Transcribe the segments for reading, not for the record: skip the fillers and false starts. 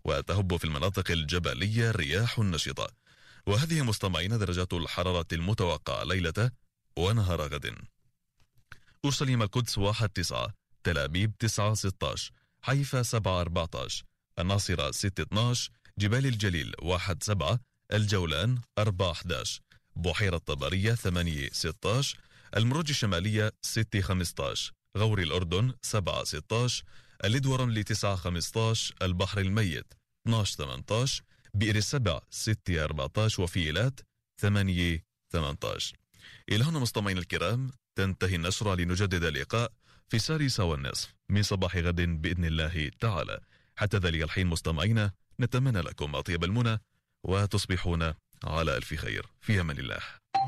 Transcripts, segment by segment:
وتهب في المناطق الجبلية رياح نشطة. وهذه مستمعين درجات الحرارة المتوقعة ليلة ونهار غد: أورشليم القدس 1-9، تل أبيب 9-16، حيفا 7-14، الناصرة 6-12، جبال الجليل 1-7، الجولان 4-11، بحيرة طبرية 8-16، المروج الشمالية 6-15، غور الأردن 7-16، الإدورن 9-15، البحر الميت 12-18، بئر السبع 6-14، وفي إيلات 8-18. إلى هنا مستمعين الكرام تنتهي النشرة، لنجدد اللقاء في 6:30 من صباح غد بإذن الله تعالى. حتى ذلك الحين مستمعين نتمنى لكم أطيب المنى وتصبحون على ألف خير. في أمان الله.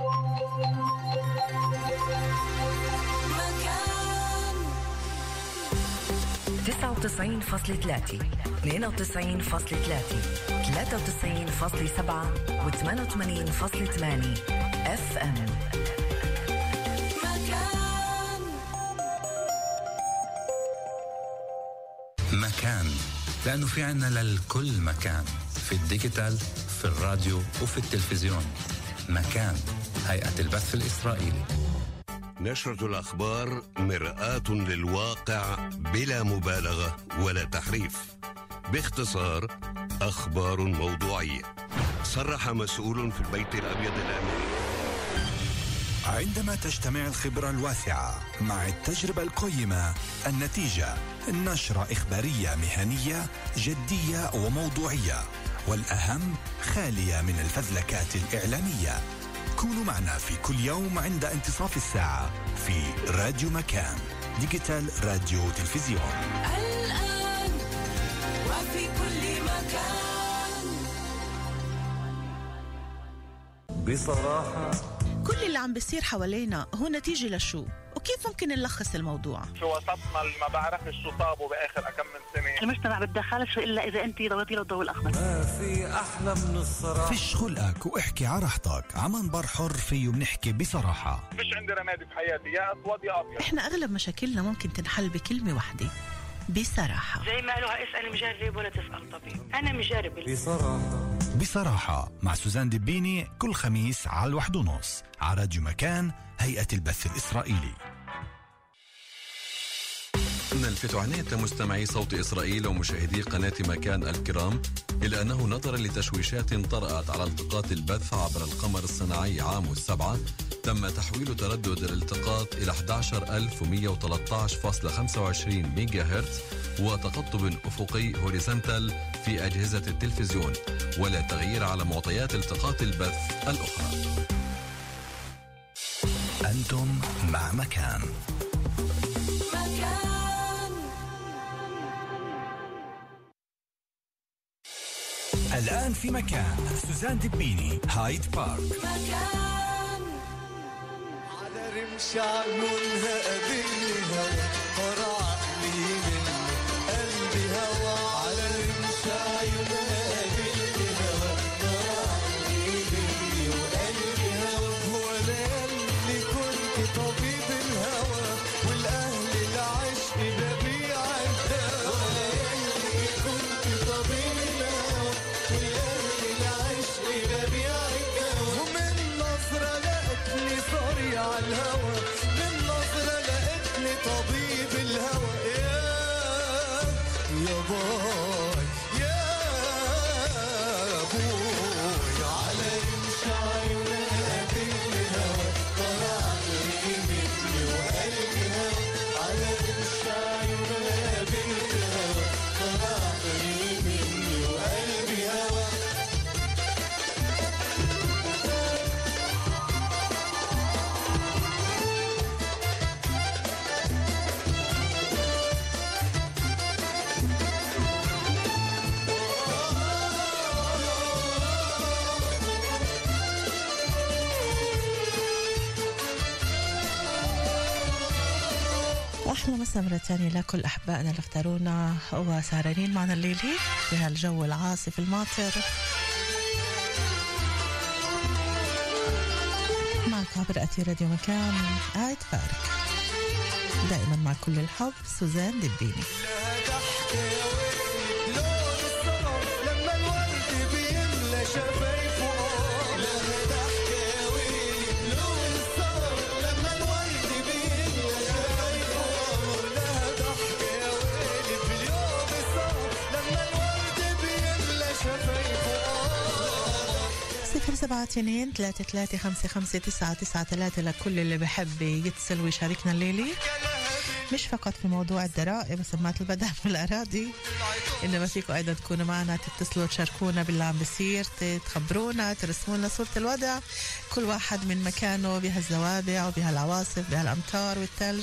99.3 92.3 93.7 و88.8 FM. مكان، لأنه في عنا للكل مكان، في الديجيتال، في الراديو وفي التلفزيون. مكان، هيئة البث الإسرائيلي. نشرة الأخبار مرآة للواقع بلا مبالغة ولا تحريف. باختصار، أخبار موضوعية. صرح مسؤول في البيت الأبيض الأمريكي: عندما تجتمع الخبرة الواسعة مع التجربة القيمة، النتيجة نشرة إخبارية مهنية جدية وموضوعية، والأهم خالية من الفزلكات الإعلامية. كونوا معنا في كل يوم عند انتصاف الساعة في راديو مكان، ديجيتال راديو تلفزيون، الآن وفي كل مكان. بصراحة كل اللي عم بيصير حوالينا هو نتيجة لشو؟ وكيف ممكن نلخص الموضوع؟ شو وسطنا اللي ما بعرفش شو صابوا بآخر أكم من سنة. المجتمع بتدخلش إلا إذا أنت ضويتي له الضوء الأخضر. ما في أحلى من الصراحة. فيش خلقك واحكي على راحتك. عمان بر حر فيه بنحكي بصراحة. فيش عندي رمادي في حياتي، يا أسود يا أبيض. إحنا أغلب مشاكلنا ممكن تنحل بكلمة واحدة: بصراحة. زي ما قالوها اسأل مجرب ولا تسأل طبيب. أنا مجرب. بصراحة. بصراحة مع سوزان دبيني كل خميس على 1:30 على راديو مكان، هيئة البث الإسرائيلي. نلفت عناية مستمعي صوت إسرائيل ومشاهدي قناة مكان الكرام إلى أنه نظرا لتشويشات طرأت على التقاط البث عبر القمر الصناعي عامو 7 تم تحويل تردد الالتقاط إلى 11113.25 ميجا هرتز وتقطب أفقي هوريزونتال في أجهزة التلفزيون، ولا تغيير على معطيات التقاط البث الأخرى. أنتم مع مكان. الآن في مكان سوزان دبيني، هايد بارك. مكان على رمش عيونها قابلني هوا، فرع لي من قلبي هوا. على رمش عيونها قابلني هوا، فرع لي مني وقلبي هوا. وانا اللي كنت طبيب الهوى، والاهل العشق ببيع الدوا. وانا اللي كنت طبيب الهوى، والاهل العشق ببيع الدوا. ومن نظرة لقتني صاري على الهوى، من نظرة لقتني طبيب الهوى. يا باي يا بوي، على رمش عيونها قابلني هوا، طلع لي مني وقلبي هوا. على رمش عيونها قابلني هوا، طلع لي مني وقلبي هوا. أحلى مسا مرة تانية لكل أحبائنا اللي اختارونا وسهرانين معنا الليلة في هالجو العاصف الماطر. معك عبر أثير راديو مكان، هايد بارك، دائما مع كل الحب سوزان دبيني. لها ضحكة يا وفي لون الصرف، 572-3355-993 لكل اللي بحب يتصل ويشاركنا الليلي، مش فقط في موضوع الضرائب وسمات البدن والأراضي، إنما فيكم أيضا تكونوا معنا، تتصلوا تشاركونا باللي عم بصير، تخبرونا، ترسمونا صورة الوضع، كل واحد من مكانه بهالزوابع وبهالعواصف بهالأمطار والثلج.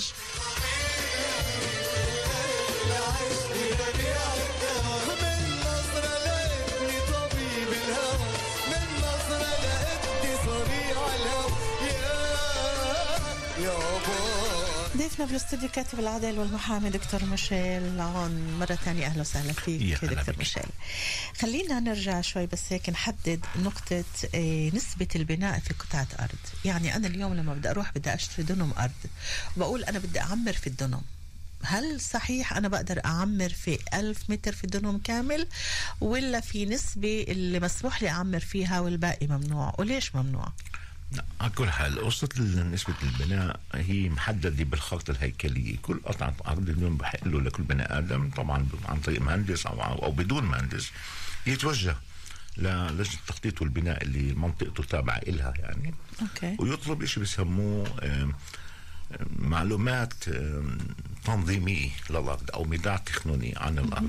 ضيفنا في الاستوديو كاتب العدل والمحامي دكتور ميشيل عون، مرة ثانية أهلا وسهلا فيك دكتور ميشيل. خلينا نرجع شوي بس هيك نحدد نقطة نسبة البناء في قطعة أرض. يعني أنا اليوم لما بدي أروح بدي أشتري دنم أرض وبقول أنا بدي أعمر في الدنم، هل صحيح أنا بقدر أعمر في 1000 متر في دنم كامل، ولا في نسبة اللي مسموح لي أعمر فيها والباقي ممنوع؟ وليش ممنوع؟ على كل حال قصة نسبة البناء هي محددة بالخطة الهيكلية. كل قطعة أرض اليوم بحق له لكل بني آدم طبعا عن طريق مهندس أو بدون مهندس يتوجه للجنة التخطيط والبناء اللي منطقته تابعة إلها يعني. أوكي. ويطلب إشي بيسموه معلومات تنظيمية للأرض أو ميدان تقنوني عن الأرض.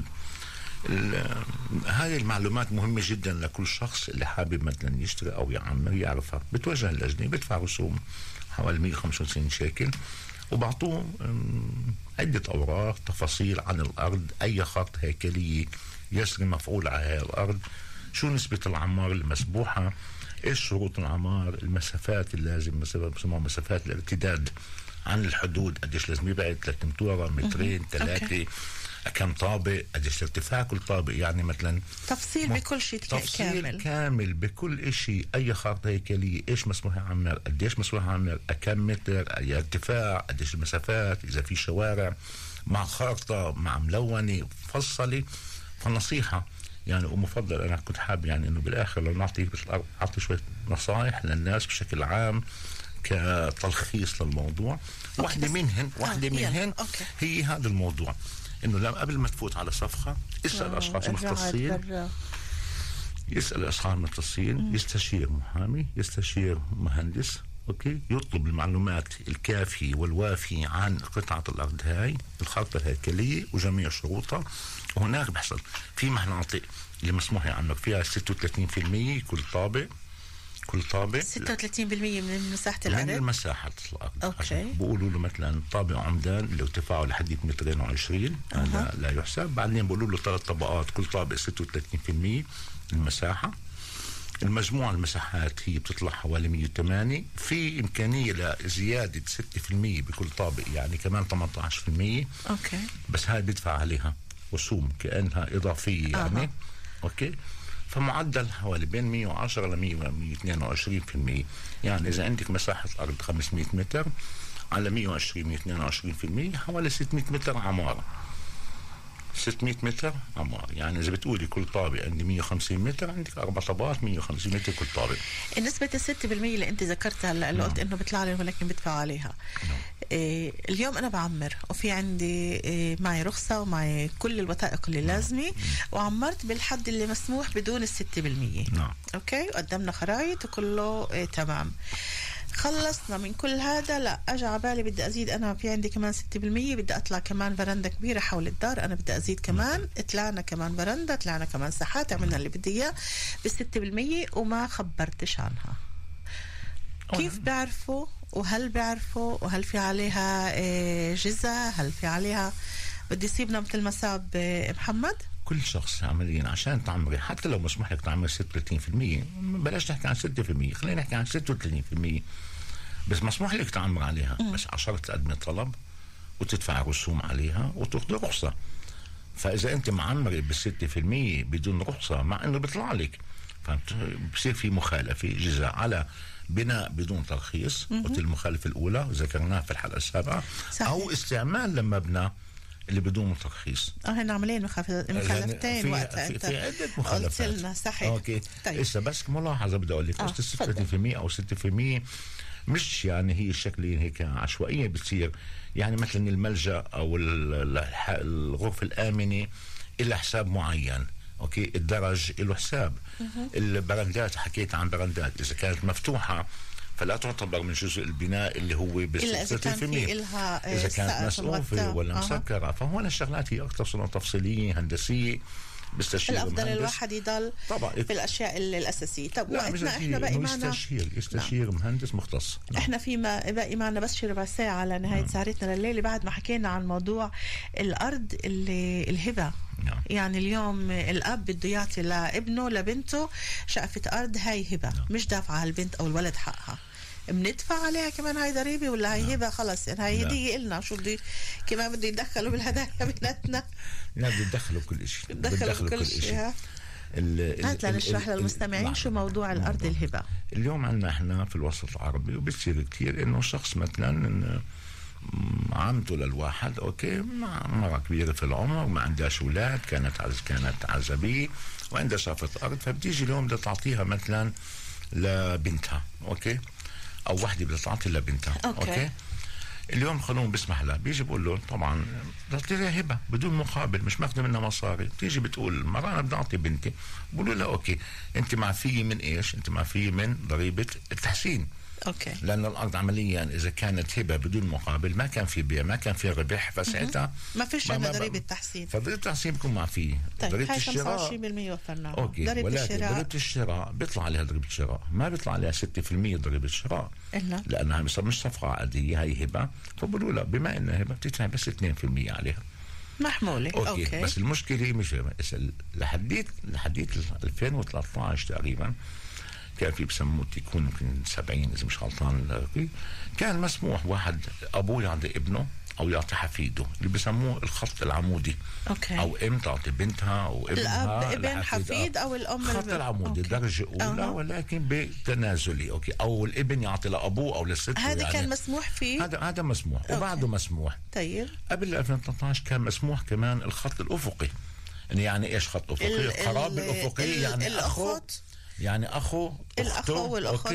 هذه المعلومات مهمة جدا لكل شخص اللي حابب مثلا يشتري أو يعمر يعرفها. بتوجه اللجنة بدفع رسوم حوالي 195 شيكل وبعطوه عدة أوراق تفاصيل عن الأرض، أي خط هيكلية يسري مفعول على هذه الأرض، شو نسبة العمار المسبوحة، إيش شروط العمار، المسافات اللازم بسموها مسافات الارتداد عن الحدود، قديش لازم يبعد 3 امتار مترين 3 كم طابق، قديش ارتفاع كل طابق، يعني مثلا تفصيل بكل شيء تفصيل كامل بكل شيء، اي خارطه هيكليه، ايش مسموح يعمر، قديش مسموح يعمر، كم متر، اي ارتفاع، قديش المسافات، اذا في شوارع، مع خارطه مع ملونه مفصله. فنصيحه يعني ومفضل انا كنت حابب يعني انه بالاخر لو نعطي شويه نصائح للناس بشكل عام كتلخيص للموضوع. واحده منهن هي هذا الموضوع، انه لما قبل ما تفوت على صفقه اسال اشخاص مختصين، يسال اشخاص مختصين، يستشير محامي، يستشير مهندس، اوكي، يطلب المعلومات الكافيه والوافيه عن قطعه الارض هاي، الخارطه الهيكليه وجميع شروطها. وهناك بيحصل في مناطق اللي مسموح يعمل فيها 36% كل طابق 36% من مساحة الأرض، من مساحة الأرض. أوكي. بقولوا له مثلا طابق عمدان اللي ارتفاعه لحد 220 هذا لا يحسب. بعدين بقولوا له 3 طبقات كل طابق 36% المساحة. المجموع المساحات هي بتطلع حوالي 108. في إمكانية لزيادة 6% بكل طابق، يعني كمان 18%. أوكي. بس هاي بيدفع عليها رسوم كأنها إضافية يعني. أوكي. فمعدل حوالي بين 110 ل 122%. يعني إذا عندك مساحة أرض 500 متر على 120 122% حوالي 600 متر عمارة. 600 متر عمار، يعني إذا بتقولي كل طابق عندي 150 متر عندك 4 طابقات 150 متر كل طابق. نسبة 6% اللي أنت ذكرتها اللي قلت إنه بيطلع لي ولكن بدفع عليها. اليوم أنا بعمر وفي عندي معي رخصة ومعي كل الوثائق اللي لازمة وعمرت بالحد اللي مسموح بدون 6%. أوكي، وقدمنا خرائط وكله تمام. خلصنا من كل هذا، لا أجي على بالي بدي أزيد، أنا في عندي كمان 6%، بدي أطلع كمان برندة كبيرة حول الدار، أنا بدي أزيد كمان. طلعنا كمان برندة، طلعنا كمان ساحات، عملنا اللي بدي إياه ب6% وما خبرتش عنها. كيف بيعرفوا؟ وهل بيعرفوا؟ وهل في عليها جزء؟ هل في عليها بدي يصيبنا مثل ما صاب محمد؟ كل شخص عمليا عشان تعمري، حتى لو مسموح لك تعمر 36%، بلاش نحكي عن 6%، خلينا نحكي عن 36%، بس مسموح لك تعمر عليها. بس عشرة تقدمي طلب وتدفع رسوم عليها وتاخذي رخصة. فإذا أنت معمري ب6% بدون رخصة، مع إنه بيطلع لك، فبصير في مخالفة جزاء على بناء بدون ترخيص، قلت المخالفة الأولى ذكرناها في الحلقة السابقة، أو استعمال لمبنى اللي بدون ترخيص. هنا عملين مخالفتين وقتها في عدة مخالفات. قلت لنا صحيح. اوكي. طيب. بس ملاحظة بدي اقول لك 6% او 6% مش يعني هي الشكل هيك عشوائية بتصير. يعني مثلا الملجأ او الغرفة الآمنة إلى حساب معين، اوكي الدرج له حساب. البرندات حكيت عن برندات اذا كانت مفتوحه فلا تعتبر من جزء البناء اللي هو إلا إذا كان في إلها إذا كانت مسقوفة ولا مسكرة. فهون الشغلات هي أكثر صورة تفصيلية هندسية بستشير الأفضل الواحد يضل طبعا في الأشياء الأساسية. طب لا وقتنا إحنا باقي معنا يستشير مهندس مختص. إحنا فيما باقي معنا بس شي ربع ساعة على نهاية سهرتنا لليلة بعد ما حكينا عن موضوع الأرض الهبة. يعني اليوم الأب بده يعطي لابنه لبنته شقفة أرض، هاي هبة مش دافعة البنت أو الولد حقها، بندفع عليها كمان هاي ضريبة ولا هاي هبة خلص يعني هاي هدية إلنا شو بدي كمان بده يدخلوا بالهدايا بيناتنا. لا بده يدخلوا كل شيء يدخلوا كل شيء. هات لنشرح للمستمعين شو موضوع الأرض الهبة. اليوم عندنا احنا في الوسط العربي وبتصير كتير انه شخص مثلا عمته للواحد اوكي مرة كبيرة في العمر ما عندهاش اولاد، كانت عزبية وعندها شافة ارض، فبتيجي اليوم بدها تعطيها مثلا لبنتها اوكي، او وحده بدها تعطي لبنتها أوكي. اليوم القانون بيسمح لها، بيجي بقول له طبعا تعطيها هبه بدون مقابل مش ماخذه منها مصاري. بتيجي بتقول المراه انا بدي اعطي بنتي، بقولوا لها اوكي انت معفيه من ايش؟ انت معفيه من ضريبه التحسين. اوكي. لأن الأرض عمليا إذا كانت هبة بدون مقابل ما كان في بيع ما كان في ربح، فساعتها ما فيش عندنا ضريبة تحسين. فضريبة التحسين بيكون معفيه. طيب ضريبة هاي الشراء 25% وفرناها. أوكي. ضريبة الشراء بيطلع عليها ضريبة الشراء، ما بيطلع عليها 6% ضريبة الشراء إلا لأنها مش صفقة عادية، هاي هبة. فبقولوا لا بما إنها هبة بتدفع بس 2% عليها. محمولة. أوكي. بس المشكلة مش لحديت 2013 تقريبا كان في بسموه يكون يمكن 70 اذا مش غلطان، كان مسموح واحد ابوه يعطي ابنه او يعطي حفيده اللي بسموه الخط العمودي. أوكي. او ام تعطي بنتها او ابنها الاب ابن حفيد او الام الخط العمودي درجه اولى ولكن بتنازلي اوكي، او الابن يعطي لابوه او للست. هذا يعني كان مسموح فيه، هذا مسموح. أوكي. وبعده مسموح. طيب قبل 2013 كان مسموح كمان الخط الافقي. يعني ايش خط افقي؟ القرابه الافقيه يعني الاخوت يعني اخو الاخو والاخت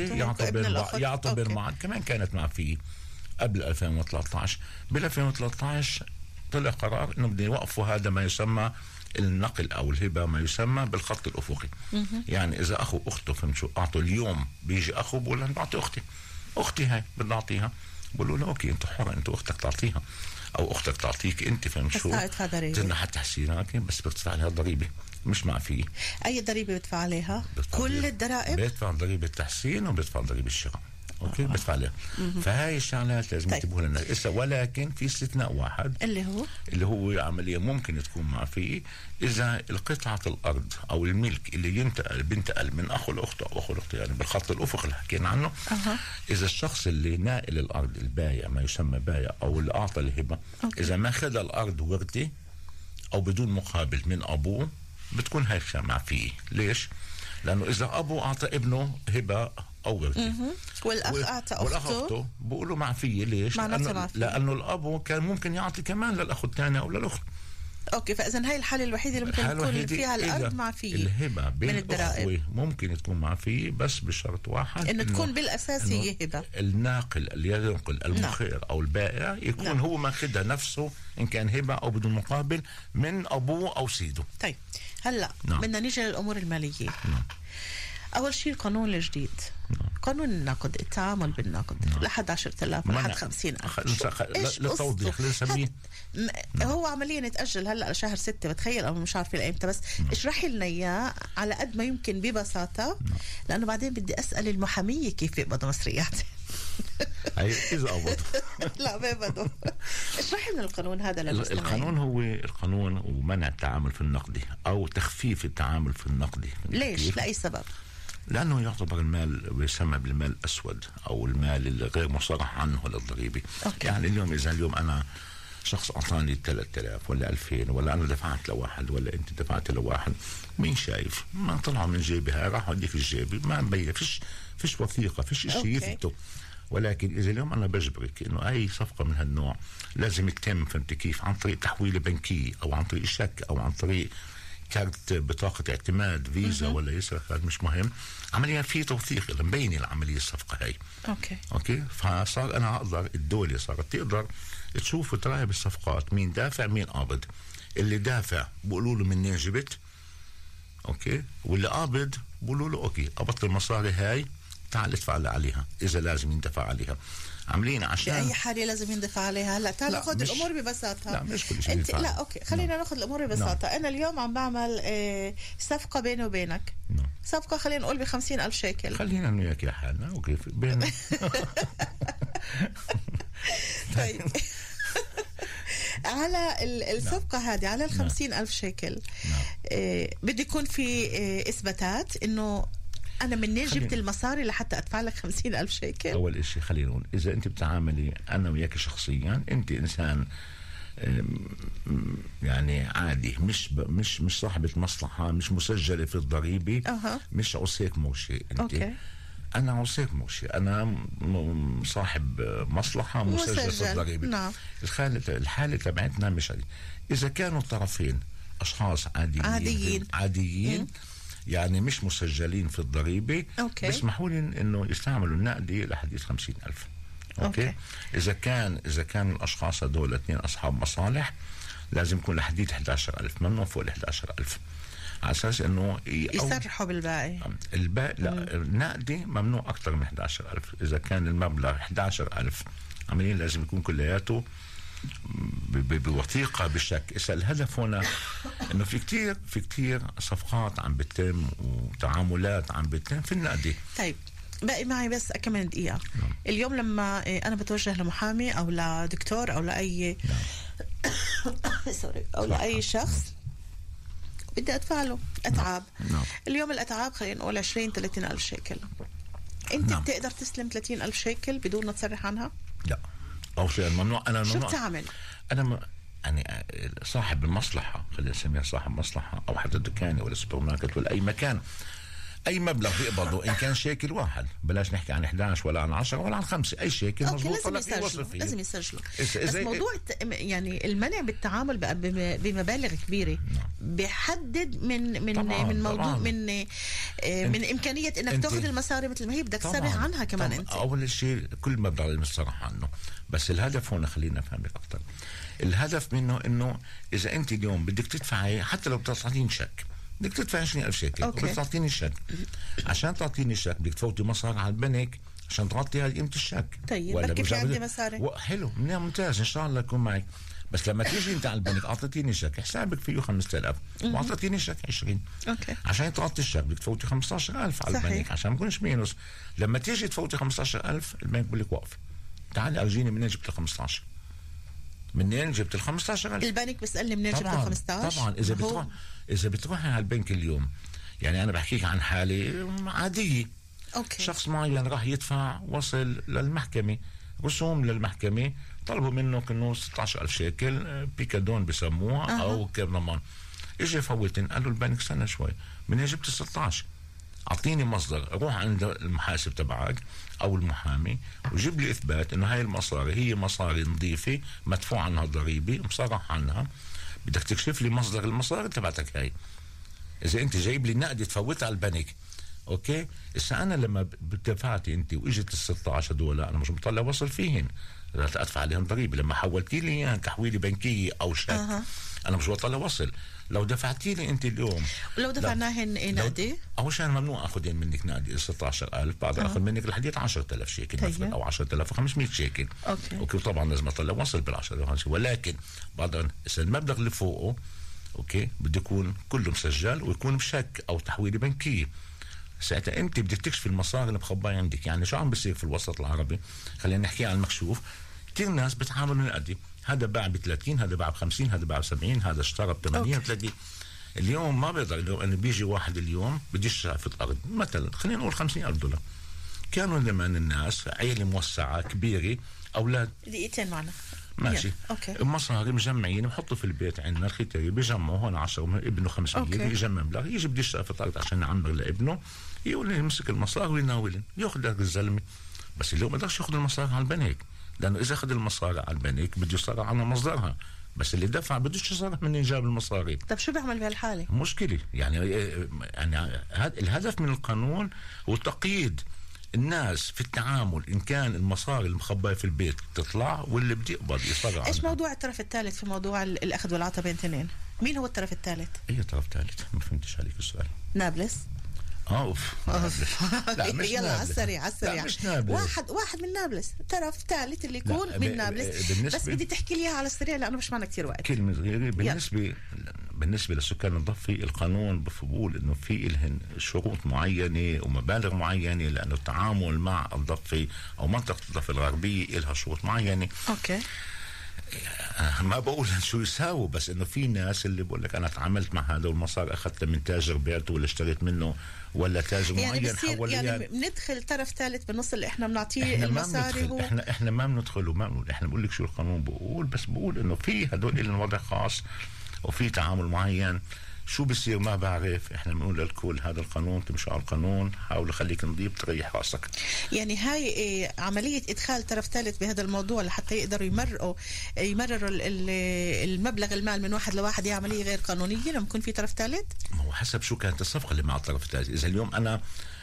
يعتبر معا كمان كانت معفيه قبل 2013. بال 2013 طلع قرار انه بدهم يوقفوا هذا ما يسمى النقل او الهبه ما يسمى بالخط الافقي. يعني اذا اخو اخته فهمت شو اعطوا اليوم، بيجي اخو بقول له بعطي اختي هاي بدي اعطيها، بقولوا له اوكي انت حر، انت اختك تعطيها او اختك تعطيك انت فهمت شو تنحى تحسينها بس بتدفع عليها الضريبه مش معفيه. اي ضريبه بدفع عليها؟ كل الضرائب بدفع ضريبه التحسين وبدفع ضريبه الشراء. اوكي بدفع عليها. فهاي الشغلات لازم ينتبهوا لنا. ولكن في استثناء واحد اللي هو عمليه ممكن تكون معفيه اذا قطعه الارض او الملك اللي بينتقل من اخو لاخته او اخو لاخته يعني بالخط الافقي اللي حكينا عنه. اذا الشخص اللي ناقل الارض البايع ما يسمى بايع او اللي اعطى الهبه اذا ما اخذ الارض ورثه او بدون مقابل من ابوه بتكون هاي معفيه. ليش؟ لانه اذا ابو اعطى ابنه هبه او ورثه والاخ اعطى اخته بقولوا معفيه. ليش؟ لانه الابو كان ممكن يعطي كمان للاخ الثاني او للاخت. اوكي. فاذا هاي الحاله الوحيده اللي ممكن تكون فيها الارض معفيه. الهبه بين الضرائب ممكن تكون معفيه بس بشرط واحد انه تكون بالاساس هي هبه. الناقل اللي ينقل المخير او البائع يكون هو ماخذها نفسه ان كان هبه او بدون مقابل من ابوه او سيده. طيب هلا بدنا نيجي للامور الماليه. أول شيء القانون الجديد. قانون النقد، التعامل بالنقد لحد 10,000 لحد 50,000. للتوضيح لنسميه هو عمليا يتأجل هلا لشهر 6 بتخيل او مش عارفه لامتى، بس اشرحي لنا اياه على قد ما يمكن ببساطه لانه بعدين بدي اسال المحاميه كيف يقبضوا مصريات. إذا قبضوا لا بيقبضوا. اشرحي لنا القانون هذا للمستمعين. القانون هو القانون ومنع التعامل في النقدي او تخفيف التعامل في النقدي. ليش؟ لأي سبب؟ لأنه يعتبر المال يسمى بالمال الأسود أو المال اللي غير مصرح عنه للضريبة. يعني اليوم أنا شخص أعطاني 3000 ولا 2000 ولا أنا دفعت لواحد ولا أنت دفعت لواحد، مين شايف؟ ما طلعوا من جيبي هاي راح أودي في جيبي، ما مبين فيش وثيقة فيش شيء يثبته. ولكن إذا اليوم أنا بجبرك إنه أي صفقة من هالنوع لازم تتم فهمت كيف عن طريق تحويلة بنكية أو عن طريق شك أو عن طريق كارت بطاقة اعتماد فيزا ولا يسرق هذا مش مهم، عمليا في توثيق مبين العملية الصفقة هاي. اوكي فصار انا اقدر الدولة صارت تقدر تشوف وتراقب الصفقات مين دافع مين قابض. اللي دافع بقولوا له منين جبت اوكي، واللي قابض بقولوا له اوكي قبضت المصاري هاي تعال ادفع لي عليها اذا لازم يندفع عليها. عاملين عشان بأي حالة لازم يندفع عليها. هلا تعال ناخذ مش... الأمور ببساطة. لا مش كل شيء انت لا اوكي خلينا ناخذ الأمور ببساطة. أنا اليوم عم بعمل صفقة بيني وبينك. صفقة خلينا نقول ب50,000 شيكل. خلينا انه وياك حالنا اوكي بين طيب على الصفقة هذه على 50,000 شيكل بده يكون في إثباتات إنه أنا منين جبت المصاري لحتى أدفع لك 50,000 شيكل. أول إشي خلينا نقول إذا أنت بتعاملي أنا وياك شخصيا أنت إنسان يعني عادي مش صاحبة مصلحة مش مسجلة في الضريبة مش عصيك مرشي أنت أوكي. أنا عصيك مرشي أنا صاحب مصلحة مسجل في الضريبة. نعم. الحالة تبعتنا مش عادي. إذا كانوا الطرفين أشخاص عاديين يعني مش مسجلين في الضريبة بيسمحوا لي إنه يستعملوا النقدي لحديث 50,000. أوكي. إذا كان الأشخاص هذول 2 أصحاب مصالح لازم يكون لحديث 11,000 ممنوع فوق 11,000 على أساس إنه يسرحوا بالباقي. الباقي لا النقدي ممنوع أكثر من 11,000. إذا كان المبلغ 11,000 عمليا لازم يكون كلياته بوثيقة بالشك. إذا الهدف هنا إنه في كتير صفقات عم بتتم وتعاملات عم بتتم في النقدي. طيب باقي معي بس كمان دقيقة. اليوم لما أنا بتوجه لمحامي أو لدكتور أو لأي سوري أو لأي شخص بدي أدفع له أتعاب. اليوم الأتعاب خلينا نقول 20-30 ألف شيكل. أنت بتقدر تسلم 30,000 شيكل بدون ما تصرح عنها؟ لا أو شيء ممنوع. أنا شو بتعمل؟ يعني صاحب المصلحة خلينا نسميها صاحب مصلحة أو حتى دكاني ولا سوبر ماركت ولا أي مكان أي مبلغ بيقبضه إن كان شيكل واحد بلاش نحكي عن 11 ولا عن 10 ولا عن 5 أي شيكل مظبوط لازم يسجلوا. بس موضوع يعني المنع بالتعامل بمبالغ كبيرة بيحدد من موضوع من إمكانية إنك تأخذ المصاري مثل ما هي بدك تصرح عنها كمان. أنت أول شيء كل مبلغ لازم تصرح عنه. بس الهدف هنا خلينا نفهمك أكتر. الهدف منه إنه إذا أنت اليوم بدك تدفعي حتى لو بتعطيني شك بدك تدفع 20,000 شيكل وبدك تعطيني الشك. عشان تعطيني الشك بدك تفوتي مصاري على البنك عشان تغطي هاي قيمة الشك. طيب بكفي في عندي مصاري حلو ممتاز إن شاء الله يكون معك. بس لما تيجي انت على البنك اعطيتيني شك حسابك فيه 5,000 واعطيتيني شك 20 اوكي عشان تغطي الشك بدك تفوتي 15,000 على البنك عشان ما يكونش مينوس. لما تيجي تفوتي 15,000 البنك بقول لك وقف تعالي ارجيني منين جبت ال 15 منين جبت ال 15,000 البنك بيسألني منين جبت ال 15. طبعا اذا بتروحي على البنك اليوم يعني انا بحكيك عن حالة عادية. أوكي. شخص معين راح يدفع وصل للمحكمة رسوم للمحكمة طلبوا منه كأنه 16,000 شيكل بيكادون بسموها أو كرنمان. إجي فوتن قالوا البنك استنى شوي من جبت 16 أعطيني مصدر روح عند المحاسب تبعك أو المحامي وجيب لي إثبات إنه هاي المصاري هي مصاري نظيفة مدفوع عنها ضريبة مصرح عنها. بدك تكشف لي مصدر المصاري تبعتك هاي. إذا أنت جايب لي نقد تفوتها على البنك أوكي. إذا أنا لما دفعتي أنت وإجت ال 16 دول أنا مش مطلع وصل فيهن لا أدفع عليهم ضريبة. لما حولتي لي إياها تحويلة بنكية أو شيك أنا مش بطلع وصل. لو دفعتي لي أنت اليوم ولو دفعناهن نقدي أول شيء ممنوع أخذين منك نقدي 16,000 بعد أخذ منك لحديت 10,000 شيكل مثلا أو 10,500 شيكل. أوكي طبعا لازم أطلع وصل بال10,000 ولكن بعد إذا المبلغ اللي فوقه أوكي بده يكون كله مسجل ويكون بشك أو تحويلة بنكية. ساعتها انت بدك تكشف المصاري اللي مخبايه عندك. يعني شو عم بيصير في الوسط العربي خلينا نحكي عن المكشوف. كثير ناس بتعاملوا من قدي هذا باع ب30 هذا باع ب50 هذا باع ب70 هذا اشترى ب38. اليوم ما بيقدر اليوم انه بيجي واحد اليوم بده يشتري في الارض مثلا خلينا نقول 50,000 دولار. كانوا زمان الناس عيله موسعه كبيره اولاد دقيقتين معنا ماشي المصاري مجمعين بحطوا في البيت عندنا الختاري بيجمعوا هون 10 ابنه 500 يجمع مبلغ يجي بده يشتري في الارض عشان يعمر لابنه يقول لي يمسك المصاري ويناولن ياخذ لك الزلمه. بس اللي ما بقدرش ياخذ المصاري على البنك لانه اذا اخذ المصاري على البنك بده يصرح عنها مصدرها. بس اللي دفع بدوش يصرح منين جاب المصاري. طب شو بيعمل بهالحاله؟ مشكله يعني الهدف من القانون هو تقييد الناس في التعامل إن كان المصاري المخبأة في البيت تطلع واللي بدي يقبض يصرح. إيش موضوع الطرف الثالث في موضوع الأخذ والعطاء بين اثنين؟ مين هو الطرف الثالث؟ اي طرف ثالث؟ ما فهمتش عليك السؤال. نابلس. اوف لا مش يلا على السريع مش نابلس. واحد من نابلس، طرف ثالث اللي يكون من نابلس. بس بدي تحكي لي اياها على السريع لانه مش معنا كثير وقت. كلمه صغيره بالنسبه للسكان الضفي، القانون بقول انه في لهن شروط معينه ومبالغ معينه، لانه التعامل مع الضفي او منطقه الضفه الغربيه لها شروط معينه. اوكي. ما بقول شو يساووا، بس انه في ناس اللي بقول لك انا تعاملت مع هذا والمصاري اخذتها من تاجر بعته ولا اشتريت منه ولا تاجر يعني معين حول لي. يعني بندخل طرف ثالث بالنص اللي احنا بنعطيه المصاري. هو احنا ما بندخل وما بنقول، احنا بقول لك شو القانون بقول، بس بقول انه في هدول لهم وضع خاص وفي تعامل معين. شو بصير ما بعرف، احنا بنقول للكل هذا القانون، تمشي على القانون، حاول خليك نضيف تريح راسك. يعني هاي عملية إدخال طرف ثالث بهذا الموضوع لحتى يقدروا يمرروا المبلغ المال من واحد لواحد، هي عملية غير قانونية لما يكون في طرف ثالث؟ ما هو حسب شو كانت الصفقة اللي مع الطرف الثالث. إذا اليوم أنا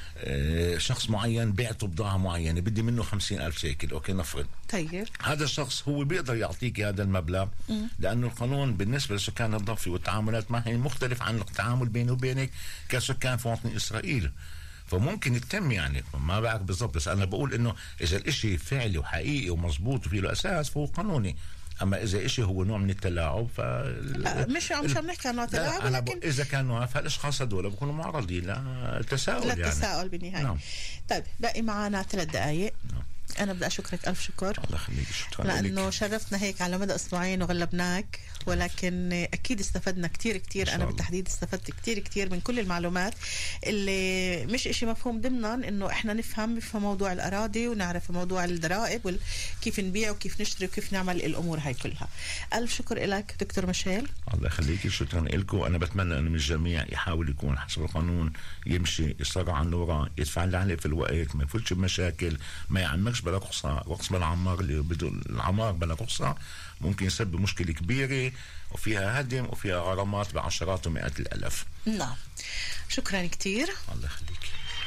شخص معين بعته بضاعة معينة بدي منه 50,000 شيكل، أوكي نفرض. طيب هذا الشخص هو بيقدر يعطيك هذا المبلغ، لأنه القانون بالنسبة لسكان الضفة والتعاملات معهم مختلف عن التعامل بيني وبينك كسكان في وطن إسرائيل. فممكن يتم، يعني ما بعرف بالضبط، بس أنا بقول إنه إذا الإشي فعلي وحقيقي ومزبوط وفيه له أساس فهو قانوني. أما إذا إشي هو نوع من التلاعب مش عم نحكي عن نوع تلاعب، لكن إذا كان نوع فالأشخاص هذول بيكونوا معرضين للتساؤل، يعني للتساؤل بالنهاية. نعم. طيب باقي معنا 3 دقائق. نعم. أنا بدي أشكرك ألف شكر. الله يخليك، شكرا لأنه لك. شرفتنا هيك على مدى أسبوعين وغلبناك، ولكن أكيد استفدنا كتير. أنا بالتحديد استفدت كتير من كل المعلومات اللي مش إشي مفهوم ضمنا، إنه إحنا نفهم موضوع الأراضي ونعرف موضوع الضرائب وكيف نبيع وكيف نشتري وكيف نعمل الأمور هاي كلها. ألف شكر لك دكتور ميشيل. الله يخليك، شكرا لكم. أنا بتمنى إنه من الجميع يحاول يكون حسب القانون، يمشي يسرع عن الوراء، يدفع اللي عليه في الوقت، ما يفوتش بمشاكل، ما يعمقش بلا رقص بلا عمار اللي بده العمار بلا رقصة ممكن يسبب مشكلة كبيرة وفيها هدم وفيها غرامات بعشرات ومئات الآلاف. نعم، شكرا كتير. الله يخليك.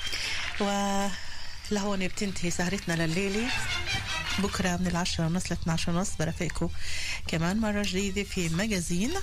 ولهون بتنتهي سهرتنا لليلة. بكرة من 10:30 ل 12:30 برافقكم كمان مرة جديدة في ماجازين.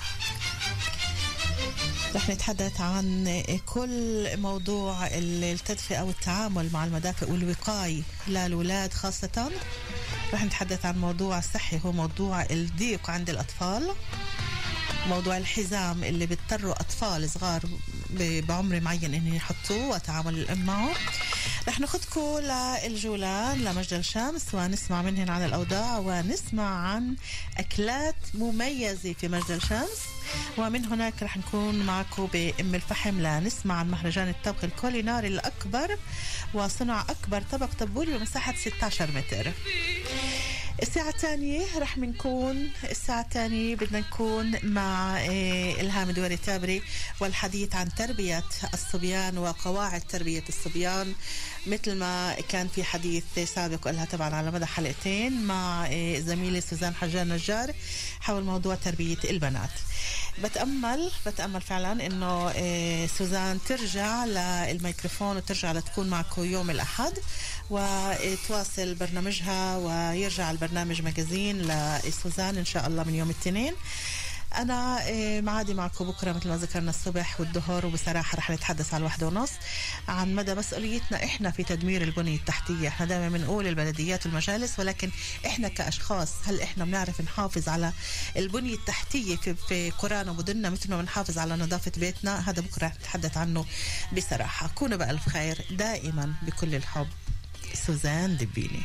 رح نتحدث عن كل موضوع التدفئة والتعامل مع المدافئ والوقاية للأولاد خاصة. رح نتحدث عن موضوع صحي، هو موضوع الضيق عند الأطفال، موضوع الحزام اللي بيضطروا أطفال صغار بعمر معين إن يحطوه وتعامل الأم معه. رح ناخدكم للجولان لمجد الشمس ونسمع منهن عن الأوضاع ونسمع عن أكلات مميزة في مجد الشمس، ومن هناك رح نكون معكم بأم الفحم لنسمع عن مهرجان الطبخ الكوليناري الأكبر وصنع أكبر طبق طبولي بمساحة 16 متر. الساعة الثانية رح نكون بدنا نكون مع إلهام دواري تابري والحديث عن تربية الصبيان وقواعد تربية الصبيان، مثل ما كان في حديث سابق لها طبعا على مدى حلقتين مع زميلي سوزان حجار نجار حول موضوع تربية البنات. بتأمل فعلا انه سوزان ترجع للميكروفون وترجع لتكون معكم يوم الأحد وتواصل برنامجها ويرجع البرنامج ماجازين لسوزان إن شاء الله من يوم الاثنين. أنا معادي معكم بكرة مثل ما ذكرنا الصبح والظهر، وبصراحة رح نتحدث على 1:30 عن مدى مسؤوليتنا إحنا في تدمير البنية التحتية. إحنا دائما بنقول البلديات والمجالس، ولكن إحنا كأشخاص هل إحنا بنعرف نحافظ على البنية التحتية في قرانا ومدننا مثل ما بنحافظ على نظافة بيتنا؟ هذا بكرة نتحدث عنه بصراحة. كونوا بألف خير دائما بكل الحب. سوزان دبيني.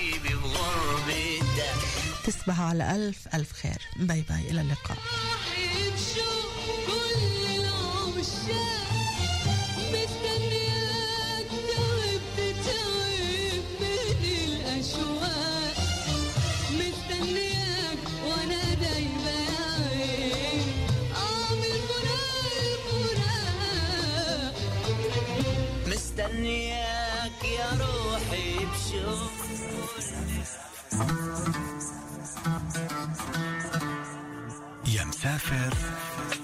تصبحوا على ألف خير. باي باي، إلى اللقاء. مستنياك يا روحي بشوق يا مسافر